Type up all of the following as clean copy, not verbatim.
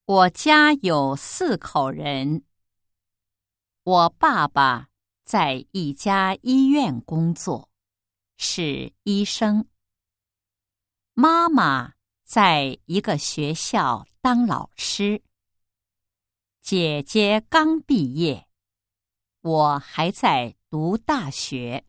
我家有4口人。我爸爸在一家医院工作，是医生。妈妈在一个学校当老师。姐姐刚毕业，我还在读大学。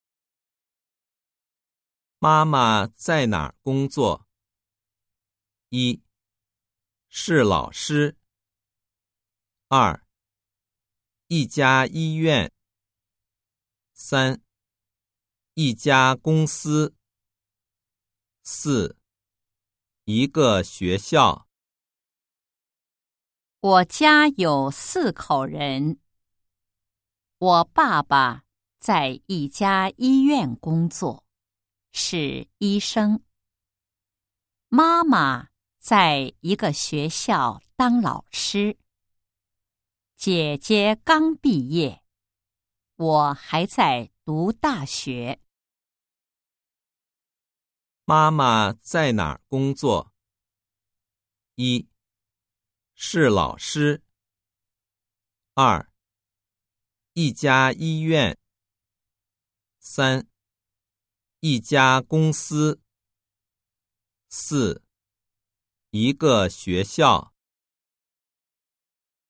妈妈在哪儿工作？一、是老师。2、一家医院。3、一家公司。4、一个学校。 我家有4口人。我爸爸在一家医院工作，是医生。妈妈在一个学校当老师。姐姐刚毕业，我还在读大学。 妈妈在哪儿工作？一、是老师。2、一家医院。3、一家公司。4、一个学校。